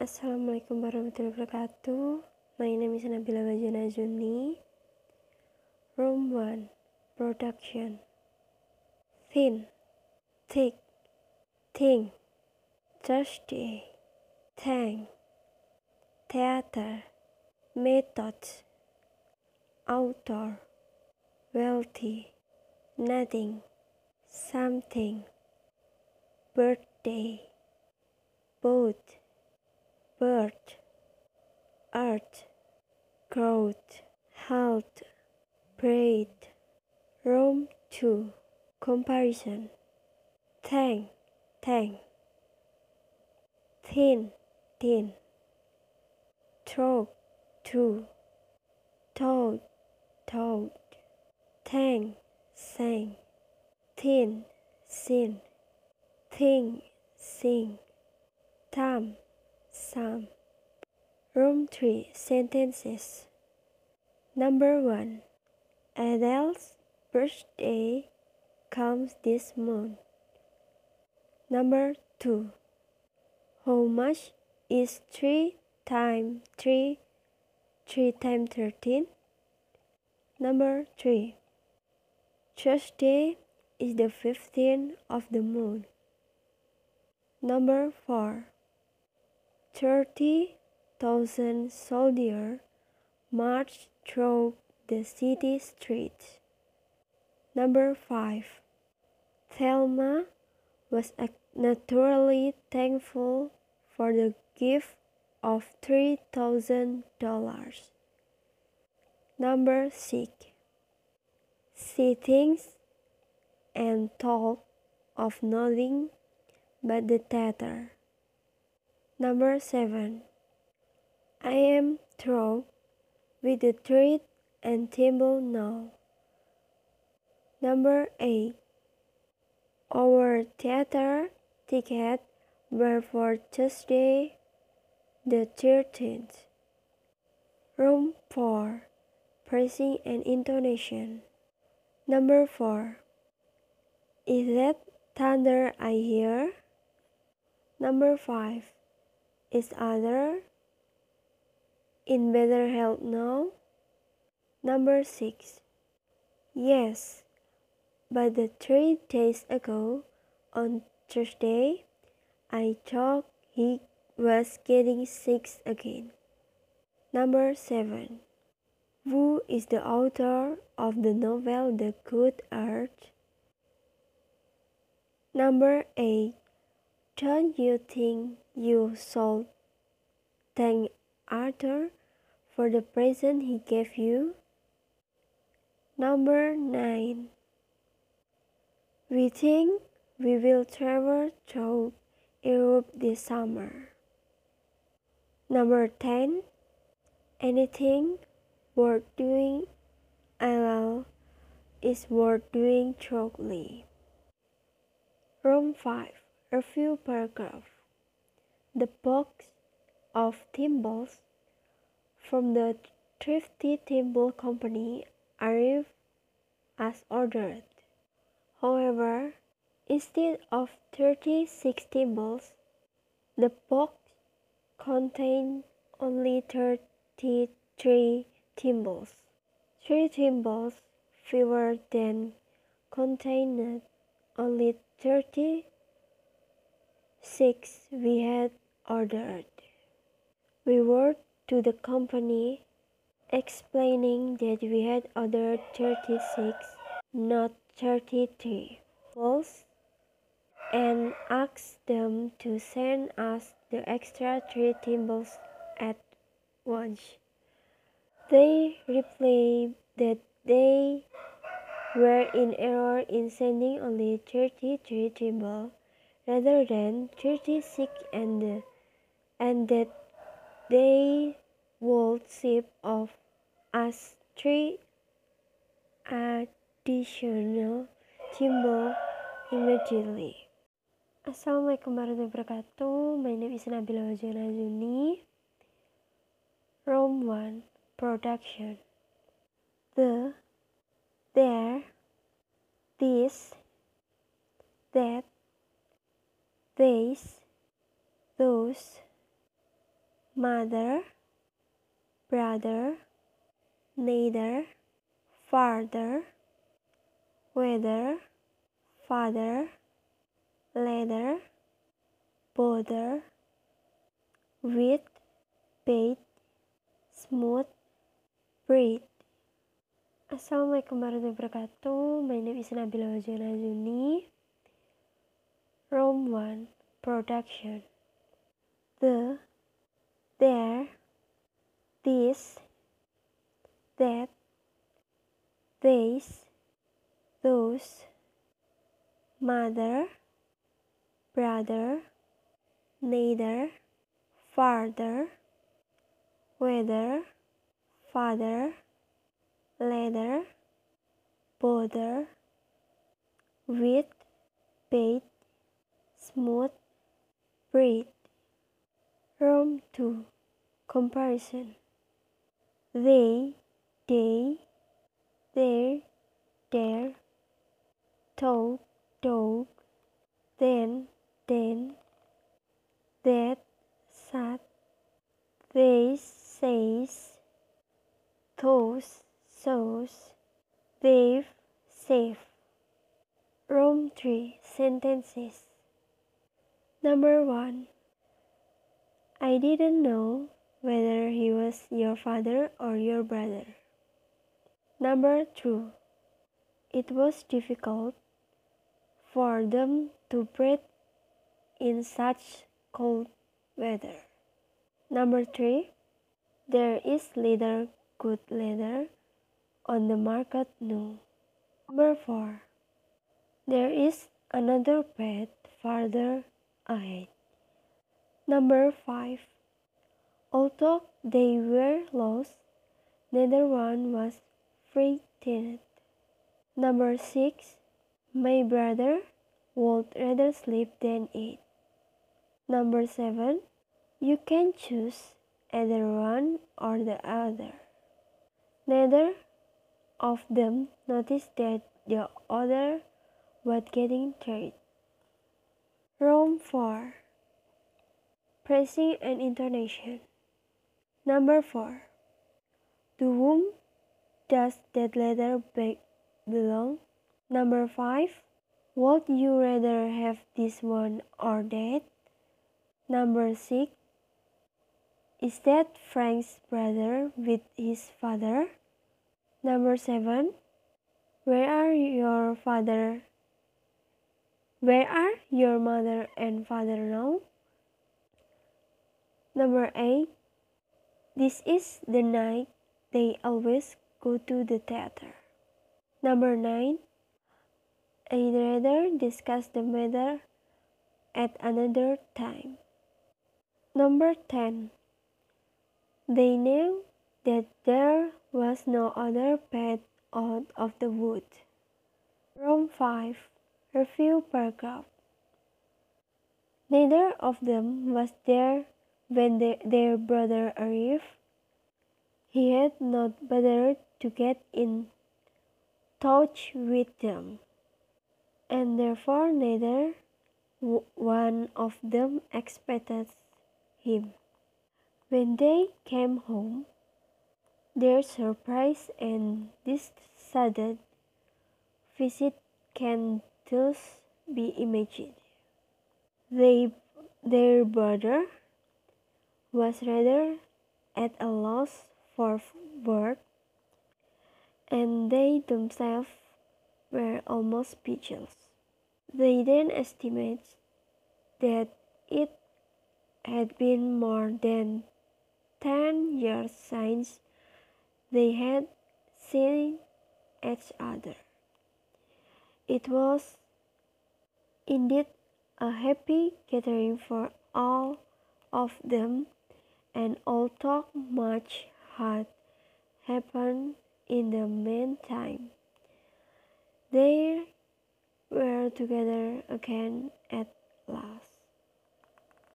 Assalamualaikum warahmatullahi wabarakatuh. My name is Nabila Wajana Juni. Room 1. Production. Thin, thick, thing, Thursday, thank, theater, method, author, wealthy, nothing, something, birthday, boat, bird, earth, growth, health, braid, room 2, comparison, thank, thin, throat, through, toad, thank, sang, thin, sin, thing, sing, thumb, some. Room 3, sentences. Number 1. Adele's birthday comes this month. Number 2. How much is 3 times 3 times 13? Number 3. Thursday is the 15th of the month. Number 4. 30,000 soldiers marched through the city streets. Number 5. Thelma was naturally thankful for the gift of $3,000. Number 6. She thinks and talks of nothing but the theater. Number 7. I am through with the treat and table now. Number 8. Our theater tickets were for Tuesday the 13th. Room 4. Phrasing and intonation. Number 4. Is that thunder I hear? Number 5. Is other in better health now? Number 6. Yes, but 3 days ago, on Thursday, I thought he was getting sick again. Number 7. Who is the author of the novel The Good Earth? Number 8. Don't you think you should thank Arthur for the present he gave you? Number 9. We think we will travel through Europe this summer. Number 10. Anything worth doing is worth doing thoroughly. Room 5. Review paragraph. The box of thimbles from the Thrifty Thimble Company arrived as ordered. However, instead of 36 thimbles, the box contained only 33 thimbles. 3 thimbles fewer than contained only 36 we had ordered. We wrote to the company explaining that we had ordered 36, not 33 balls, and asked them to send us the extra 3 thimbles at once. They replied that they were in error in sending only 33 thimbles rather than 36 and that they would ship of us 3 additional thimbles immediately. Assalamualaikum warahmatullahi wabarakatuh. My name is Nabila Wajana Juni. Room 1. Production. The, there, this, that, these, those, mother, brother, neither, farther, whether, father, leather, bother, with, paid, smooth, breed. Assalamualaikum warahmatullahi wabarakatuh. My name is Nabila Wajana Azuni. Rome 1 Production. The, there, this, that, these, those, mother, brother, neither, farther, whether, father, leather, bother, with, paid, smooth, breed. Rome 2 Comparison. They, their, talk, then, that, sat, they, says, those, sows, they've, safe. Rome 3 Sentences. Number 1. I didn't know whether he was your father or your brother. Number 2. It was difficult for them to breathe in such cold weather. Number 3. There is little good leather on the market now. Number 4. There is another path farther ahead. Number 5. Although they were lost, neither one was frightened. Number 6. My brother would rather sleep than eat. Number 7. You can choose either one or the other. Neither of them noticed that the other was getting tired. Rome 4 Phrasing and intonation. Number 4. To whom does that leather bag belong? Number 5. Would you rather have this one or that? Number 6. Is that Frank's brother with his father? Number 7. Where are your mother and father now? Number 8. This is the night they always go to the theater. Number 9. I'd rather discuss the matter at another time. Number 10. They knew that there was no other path out of the wood. Rome 5 Review paragraph. Neither of them was there when their brother arrived. He had not bothered to get in touch with them, and therefore neither one of them expected him. When they came home, their surprise and this sudden visit can thus be imagined. Their brother was rather at a loss for words, and they themselves were almost speechless. They then estimated that it had been more than 10 years since they had seen each other. It was indeed a happy gathering for all of them, and although much had happened in the meantime, they were together again at last.